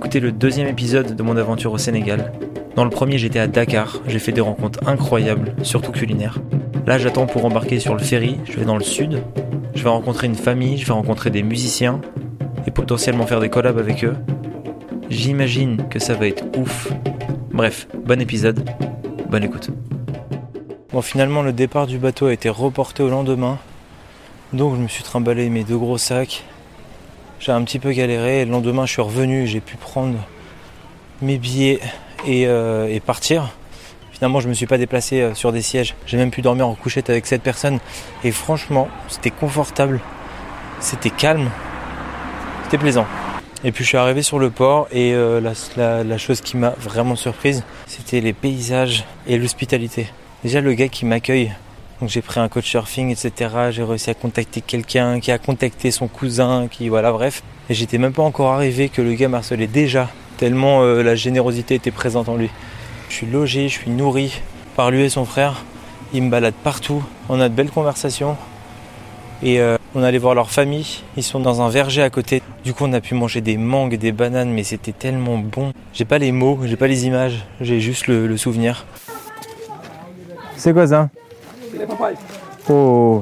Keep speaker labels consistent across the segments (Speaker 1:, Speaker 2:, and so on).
Speaker 1: écouter le deuxième épisode de mon aventure au Sénégal. Dans le premier, j'étais à Dakar, j'ai fait des rencontres incroyables, surtout culinaires. Là, j'attends pour embarquer sur le ferry, je vais dans le sud, je vais rencontrer une famille, je vais rencontrer des musiciens et potentiellement faire des collabs avec eux. J'imagine que ça va être ouf. Bref, bon épisode, bonne écoute. Bon, finalement, le départ du bateau a été reporté au lendemain, donc je me suis trimballé mes 2 gros sacs. J'ai un petit peu galéré et le lendemain je suis revenu et j'ai pu prendre mes billets et partir. Finalement je me suis pas déplacé sur des sièges, j'ai même pu dormir en couchette avec 7 personnes et franchement c'était confortable, c'était calme, c'était plaisant. Et puis je suis arrivé sur le port et la chose qui m'a vraiment surprise c'était les paysages et l'hospitalité. Déjà le gars qui m'accueille, donc j'ai pris un coach surfing, etc. J'ai réussi à contacter quelqu'un qui a contacté son cousin, voilà, bref. Et j'étais même pas encore arrivé que le gars m'harcelait déjà, tellement la générosité était présente en lui. Je suis logé, je suis nourri par lui et son frère. Ils me baladent partout, on a de belles conversations. Et on allait voir leur famille, ils sont dans un verger à côté. Du coup on a pu manger des mangues, des bananes, mais c'était tellement bon. J'ai pas les mots, j'ai pas les images, j'ai juste le souvenir. C'est quoi ça ?
Speaker 2: C'est les papayes.
Speaker 1: Oh.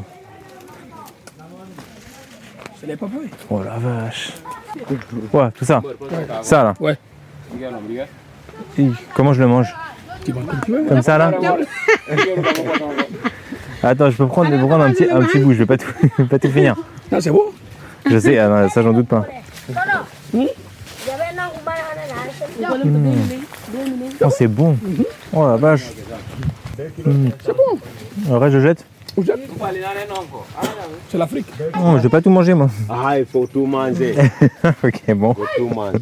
Speaker 2: C'est les papayes.
Speaker 1: Oh la vache. Ouais, tout ça. Ça là.
Speaker 2: Ouais.
Speaker 1: Et comment je le mange?
Speaker 2: Tu manges comme tu veux.
Speaker 1: Comme ça là. Attends, je peux prendre un petit bout, je vais pas tout finir.
Speaker 2: Non, c'est bon.
Speaker 1: Je sais, non, ça j'en doute pas. Oh, c'est bon. Oh la vache.
Speaker 2: C'est bon.
Speaker 1: Le reste je jette.
Speaker 2: C'est l'Afrique.
Speaker 1: Oh, je vais pas tout manger moi.
Speaker 3: Ah, il faut tout manger.
Speaker 1: Ok, bon.
Speaker 3: Il faut tout manger.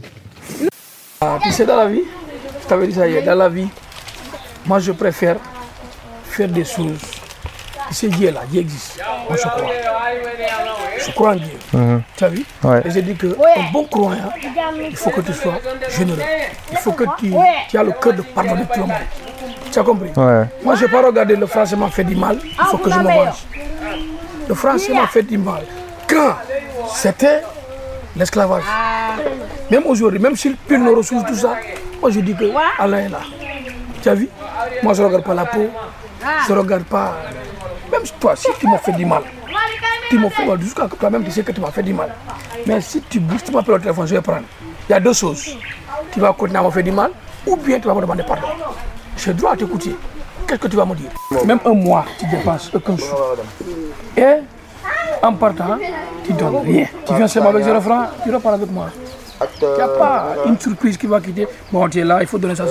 Speaker 2: Tu sais, dans la vie, je t'avais dit ça hier, dans la vie, moi je préfère faire des choses. Tu sais, Dieu là, Dieu existe. Moi je crois. Je crois en Dieu. Tu as vu?
Speaker 1: Ouais.
Speaker 2: Et j'ai dit qu'un bon croyant, il faut que tu sois généreux. Il faut que tu aies le cœur de pardonner tout le monde. Tu as compris?
Speaker 1: Ouais.
Speaker 2: Moi, je n'ai pas regardé le français m'a fait du mal, il faut que je me venge. Le français m'a fait du mal. Quand c'était l'esclavage. Même aujourd'hui, même s'il pile nos ressources, tout ça, moi je dis que Allah est là. Tu as vu? Moi, je ne regarde pas la peau, je ne regarde pas. Même toi, si tu m'as fait du mal, tu m'as fait mal, jusqu'à toi-même, tu sais que tu m'as fait du mal. Mais si tu bouges, tu m'appelles au téléphone, je vais prendre. Il y a 2 choses. Tu vas continuer à me faire du mal, ou bien tu vas me demander pardon. J'ai droit à t'écouter. Qu'est-ce que tu vas me dire? Même un mois, tu dépenses aucun sou. Et en partant, tu ne donnes rien. Tu viens seulement avec 0 francs, tu repars avec moi. Il n'y a pas une surprise qui va quitter. Bon, tu es là, il faut donner ça.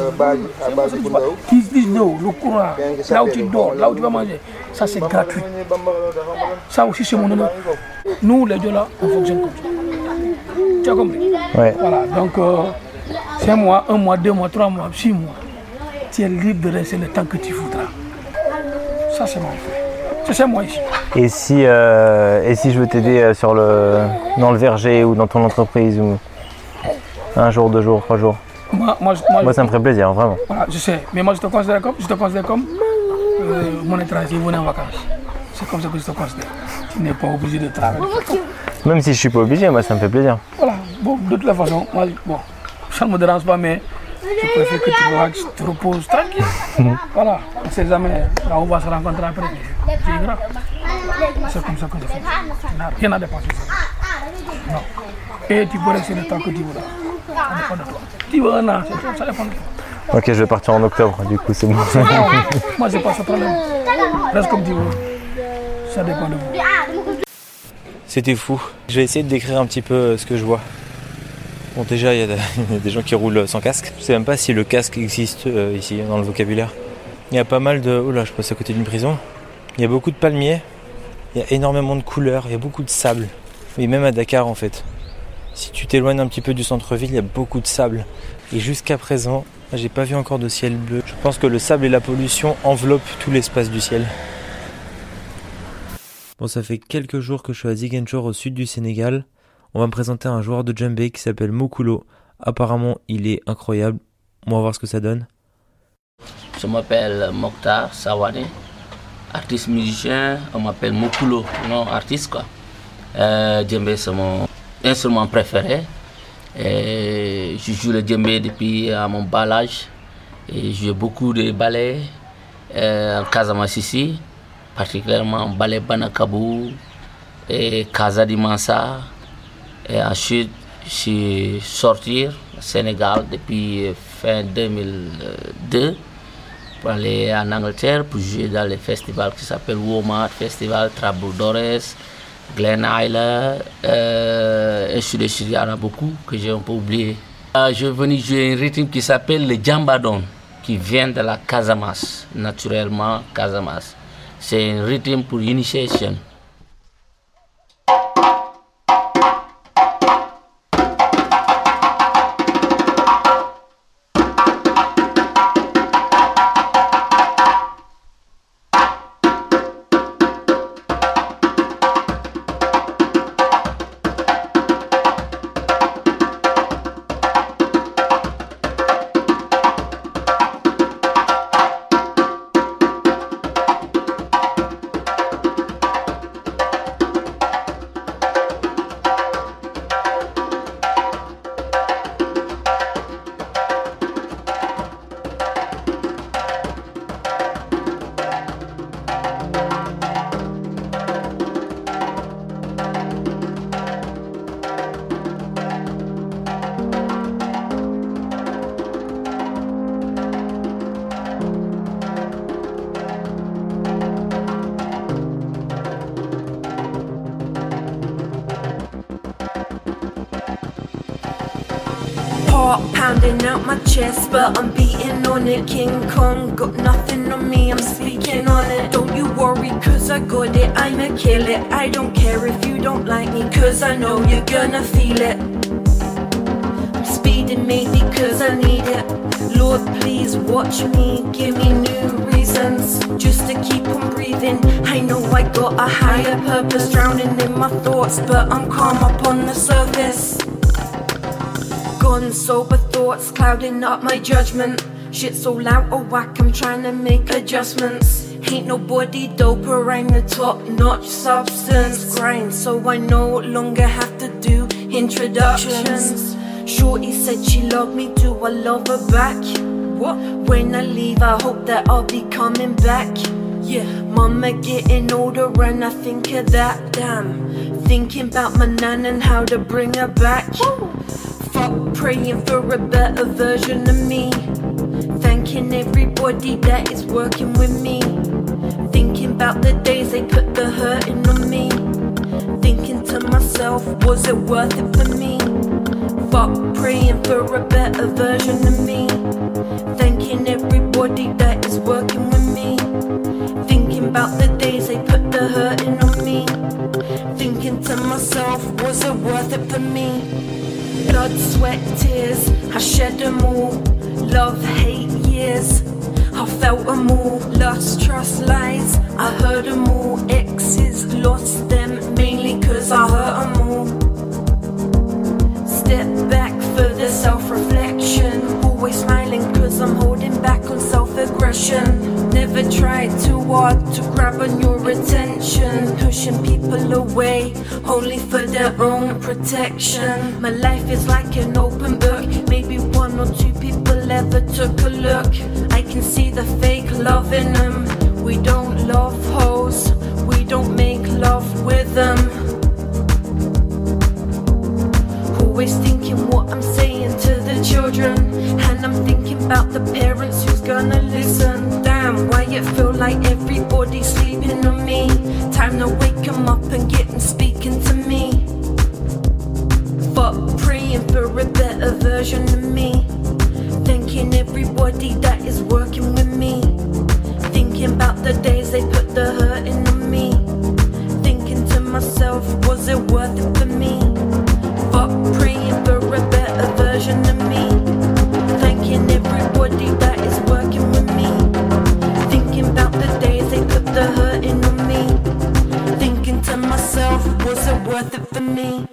Speaker 2: Tu dis non, le courant, là où tu dors, là où tu vas manger, ça c'est gratuit. Ça aussi c'est mon honneur. Nous, les deux là, on fonctionne comme ça. Tu as compris?
Speaker 1: Ouais.
Speaker 2: Voilà, donc 5 mois, 1 mois, 2 mois, 3 mois, 6 mois. Tu es libre de rester le temps que tu voudras. Ça, c'est mon frère. C'est moi ici.
Speaker 1: Et si je veux t'aider dans le verger ou dans ton entreprise ou 1 jour, 2 jours, 3 jours?
Speaker 2: Moi,
Speaker 1: Ça me ferait plaisir, vraiment.
Speaker 2: Voilà, je sais. Mais moi, je te considère comme mon étranger venu en vacances. C'est comme ça que je te considère. Tu n'es pas obligé de travailler.
Speaker 1: Même si je suis pas obligé, moi ça me fait plaisir.
Speaker 2: Voilà. Bon, de toute façon, moi, ça ne me dérange pas, mais je préfère que tu relaxes, tu te reposes tranquille. Voilà. On ne sait jamais. Là, on va se rencontrer après. Tu es grand. C'est comme ça que je fais. Tu n'as rien à dépenser. Non. Et tu peux rester le temps que tu voudras. Ça dépend de toi. Tu veux 1 an, ça dépend de toi.
Speaker 1: Ok, je vais partir en octobre, du coup c'est bon.
Speaker 2: Moi, j'ai pas ce problème. Reste comme tu veux. Ça dépend de vous.
Speaker 1: C'était fou. Je vais essayer de décrire un petit peu ce que je vois. Bon, déjà, il y a des gens qui roulent sans casque. Je sais même pas si le casque existe ici, dans le vocabulaire. Il y a pas mal de... Oh là, je passe à côté d'une prison. Il y a beaucoup de palmiers. Il y a énormément de couleurs. Il y a beaucoup de sable. Et même à Dakar, en fait. Si tu t'éloignes un petit peu du centre-ville, il y a beaucoup de sable. Et jusqu'à présent, j'ai pas vu encore de ciel bleu. Je pense que le sable et la pollution enveloppent tout l'espace du ciel. Bon, ça fait quelques jours que je suis à Ziguinchor, au sud du Sénégal. On va me présenter un joueur de djembé qui s'appelle Mokulo. Apparemment, il est incroyable. On va voir ce que ça donne.
Speaker 4: Je m'appelle Mokhtar Sawane, artiste musicien. On m'appelle Mokulo, non artiste quoi. Djembé c'est mon instrument préféré. Et je joue le djembé depuis mon bas âge. Et je joue beaucoup de ballets en Casamance ici, particulièrement ballet Banakabou et Casa di Mansa. Et ensuite, je suis sorti au Sénégal depuis fin 2002 pour aller en Angleterre pour jouer dans les festivals qui s'appellent Womart Festival, Trabouldores, Glen Isle, et sur les il y en a beaucoup que j'ai un peu oublié. Je suis venu jouer un rythme qui s'appelle le Djambadon, qui vient de la Casamance, naturellement Casamance. C'est un rythme pour initiation.
Speaker 3: Heart pounding out my chest, but I'm beating on it. King Kong got nothing on me, I'm speaking on it. Don't you worry, cause I got it, I'ma kill it. I don't care if you don't like me, cause I know you're gonna feel it. I'm speeding maybe cause I need it. Lord, please watch me, give me new reasons just to keep on breathing. I know I got a higher purpose, drowning in my thoughts, but I'm calm up on the surface. Gone sober thoughts clouding up my judgment. Shit's all out of whack, I'm trying to make adjustments. Ain't nobody doper, I'm the top-notch substance. Grind so I no longer have to do introductions. Shorty said she loved me, do I love her back? What? When I leave I hope that I'll be coming back. Yeah, mama getting older and I think of that. Damn, thinking about my nan and how to bring her back. Fuck praying for a better version of me. Thanking everybody that is working with me. Thinking about the days they put the hurting on me. Thinking to myself, was it worth it for me? Fuck praying for a better version of me. Thanking everybody that is working with me. Thinking about the days they put the hurting on me. Thinking to myself, was it worth it for me? Blood, sweat, tears, I shed them all. Love, hate, years, I felt them all. Lust, trust, lies, I heard them all. Exes, lost them, mainly cause I hurt them all. Step back for the self-reflection. Always smiling cause I'm holding back on self-aggression. Never tried too hard to grab on your attention. Pushing people away, only for their own protection. My life is like an open book. Maybe one or two people ever took a look. I can see the fake love in them. We don't love hoes, we don't make love with them. Always thinking what I'm saying to the children. And I'm thinking about the parents who's gonna listen. Damn, why it feel like everybody's sleeping on me. Time to wake them up and get them speaking to me. Fuck praying for a better version of me. Thanking everybody that is working with me. Thinking about the days they put the hurting on me. Thinking to myself, was it worth it for me? Fuck praying for a better version of me. Thanking everybody that is working with me. Thinking about the days they put the hurting on me. Thinking to myself, was it worth it for me?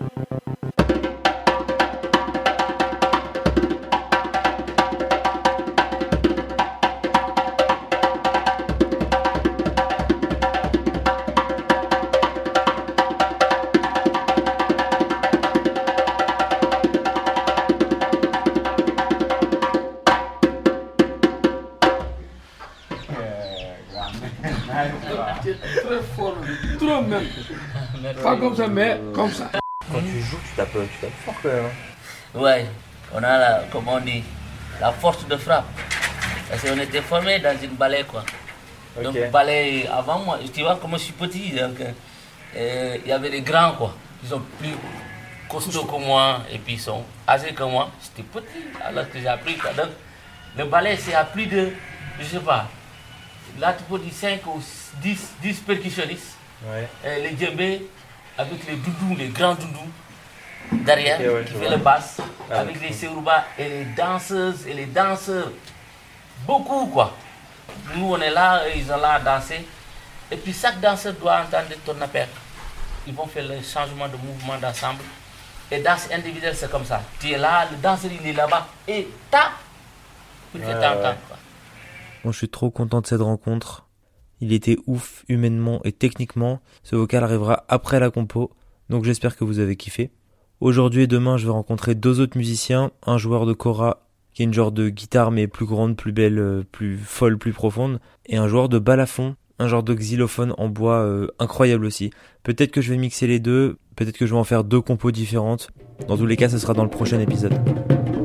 Speaker 2: Pas comme ça, mais comme ça.
Speaker 1: Quand tu joues, tu tapes fort quand même.
Speaker 4: Ouais, on a comme on dit, la force de frappe. Parce qu'on était formé dans une ballet quoi. Donc ballet, avant moi, tu vois comme je suis petit, donc il y avait des grands quoi. Ils sont plus costauds que moi et puis ils sont âgés que moi. J'étais petit alors que j'ai appris quoi. Donc le ballet c'est à plus de, je sais pas, là tu peux dire 5 ou 10 percussionnistes.
Speaker 1: Ouais.
Speaker 4: Les djembés avec les doudous, les grands doudous derrière qui fait le basse, avec les sérouba et les danseuses et les danseurs. Beaucoup quoi. Nous on est là, ils sont là à danser. Et puis chaque danseur doit entendre ton appel. Ils vont faire le changement de mouvement d'ensemble. Et danse individuelle c'est comme ça. Tu es là, le danseur il est là-bas et tape pour que tu entends quoi.
Speaker 1: Bon, je suis trop content de cette rencontre. Il était ouf humainement et techniquement. Ce vocal arrivera après la compo, donc j'espère que vous avez kiffé. Aujourd'hui et demain, je vais rencontrer 2 autres musiciens, un joueur de kora qui est une genre de guitare mais plus grande, plus belle, plus folle, plus profonde, et un joueur de balafon, un genre de xylophone en bois incroyable aussi. Peut-être que je vais mixer les deux, peut-être que je vais en faire 2 compos différentes. Dans tous les cas, ce sera dans le prochain épisode.